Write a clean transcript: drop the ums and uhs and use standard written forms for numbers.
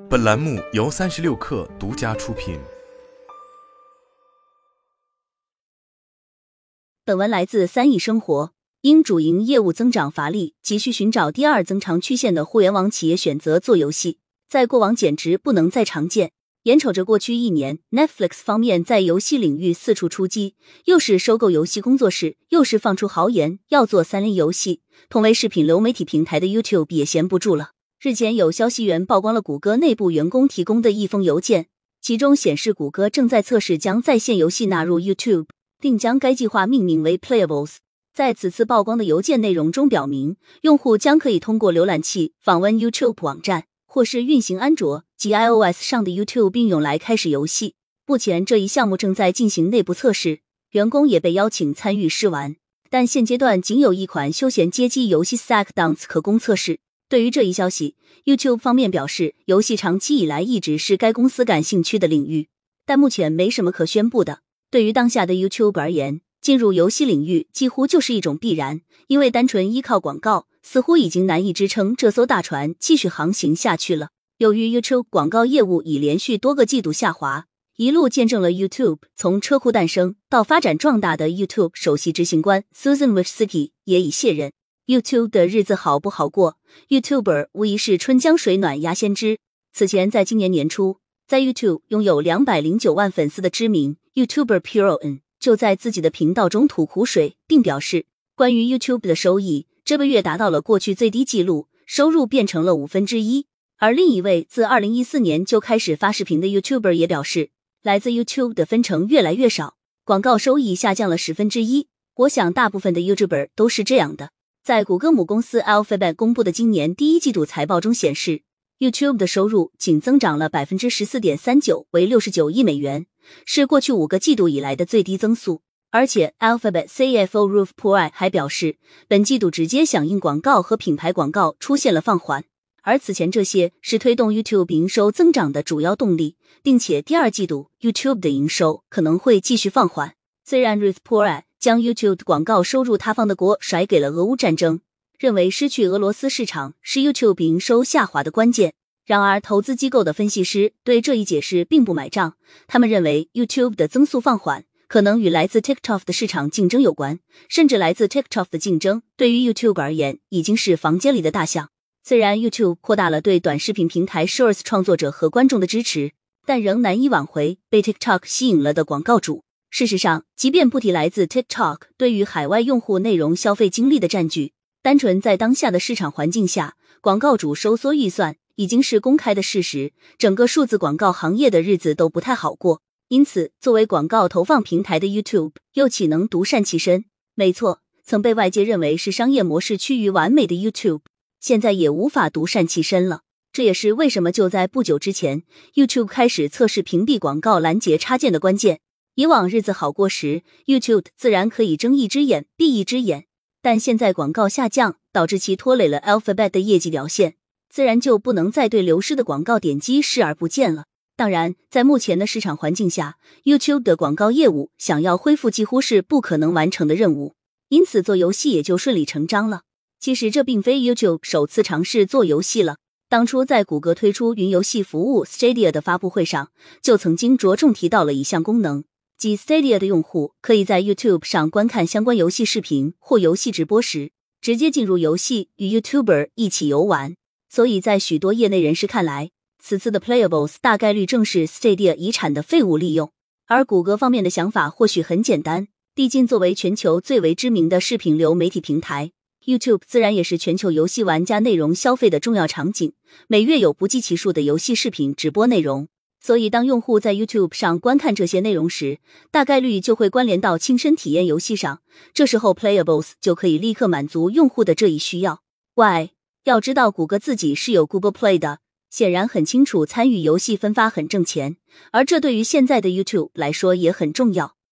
本栏目由36氪独家出品。 本文来自3亿生活。因主营业务增长乏力，急需寻找第二增长曲线的互联网企业选择做游戏，在过往简直不能再常见。眼瞅着过去1年 Netflix 方面在游戏领域四处出击，又是收购游戏工作室，又是放出豪言要做3类游戏，同为视频流媒体平台的 YouTube 也闲不住了。日前有消息源曝光了谷歌内部员工提供的一封邮件，其中显示谷歌正在测试将在线游戏纳入 YouTube， 并将该计划命名为 Playables。 在此次曝光的邮件内容中表明，用户将可以通过浏览器访问 YouTube 网站，或是运行安卓及 iOS 上的 YouTube 应用来开始游戏。目前这一项目正在进行内部测试，员工也被邀请参与试玩，但现阶段仅有一款休闲街机游戏 Sackdowns 可供测试。对于这一消息， YouTube 方面表示，游戏长期以来一直是该公司感兴趣的领域，但目前没什么可宣布的。对于当下的 YouTube 而言，进入游戏领域几乎就是一种必然，因为单纯依靠广告似乎已经难以支撑这艘大船继续航行下去了。由于 YouTube 广告业务已连续多个季度下滑，一路见证了 YouTube 从车库诞生到发展壮大的 YouTube 首席执行官 Susan Wojcicki 也已卸任。YouTube 的日子好不好过， YouTuber 无疑是春江水暖鸭先知。此前在今年年初，在 YouTube 拥有209万粉丝的知名 YouTuber PureOn 就在自己的频道中吐苦水，并表示关于 YouTube 的收益这个月达到了过去最低纪录，收入变成了1/5。而另一位自2014年就开始发视频的 YouTuber 也表示，来自 YouTube 的分成越来越少，广告收益下降了1/10。我想大部分的 YouTuber 都是这样的。在谷歌母公司 Alphabet 公布的今年第一季度财报中显示， YouTube 的收入仅增长了 14.39%， 为69亿美元，是过去5个季度以来的最低增速。而且 Alphabet CFO Ruth Porat 还表示，本季度直接响应广告和品牌广告出现了放缓，而此前这些是推动 YouTube 营收增长的主要动力，并且第二季度 YouTube 的营收可能会继续放缓。虽然 Ruth Porat 将 YouTube 广告收入塌方的锅甩给了俄乌战争，认为失去俄罗斯市场是 YouTube 营收下滑的关键。然而投资机构的分析师对这一解释并不买账，他们认为 YouTube 的增速放缓可能与来自 TikTok 的市场竞争有关，甚至来自 TikTok 的竞争对于 YouTube 而言已经是房间里的大象。虽然 YouTube 扩大了对短视频平台 Shorts 创作者和观众的支持，但仍难以挽回被 TikTok 吸引了的广告主。事实上，即便不提来自 TikTok 对于海外用户内容消费精力的占据，单纯在当下的市场环境下，广告主收缩预算已经是公开的事实，整个数字广告行业的日子都不太好过。因此，作为广告投放平台的 YouTube 又岂能独善其身？没错，曾被外界认为是商业模式趋于完美的 YouTube， 现在也无法独善其身了。这也是为什么就在不久之前 YouTube 开始测试屏蔽广告拦截插件的关键。以往日子好过时， YouTube 自然可以睁一只眼闭一只眼，但现在广告下降导致其拖累了 Alphabet 的业绩表现，自然就不能再对流失的广告点击视而不见了。当然，在目前的市场环境下， YouTube 的广告业务想要恢复几乎是不可能完成的任务，因此做游戏也就顺理成章了。其实这并非 YouTube 首次尝试做游戏了，当初在谷歌推出云游戏服务 Stadia 的发布会上，就曾经着重提到了一项功能，即 Stadia 的用户可以在 YouTube 上观看相关游戏视频或游戏直播时，直接进入游戏与 YouTuber 一起游玩。所以在许多业内人士看来，此次的 Playables 大概率正是 Stadia 遗产的废物利用。而谷歌方面的想法或许很简单，毕竟作为全球最为知名的视频流媒体平台， YouTube 自然也是全球游戏玩家内容消费的重要场景，每月有不计其数的游戏视频直播内容。所以当用户在 YouTube 上观看这些内容时，大概率就会关联到亲身体验游戏上，这时候 Playables 就可以立刻满足用户的这一需要。要知道谷歌自己是有 Google Play 的，显然很清楚参与游戏分发很挣钱，而这对于现在的 YouTube 来说也很重要。